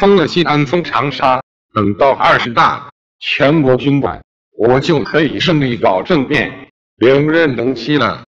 封了西安，封长沙，等到20大全国军管，我就可以顺利搞政变，连任能期了。